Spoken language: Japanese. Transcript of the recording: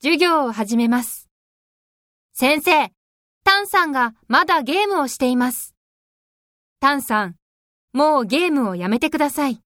授業を始めます。先生、タンさんがまだゲームをしています。タンさん、もうゲームをやめてください。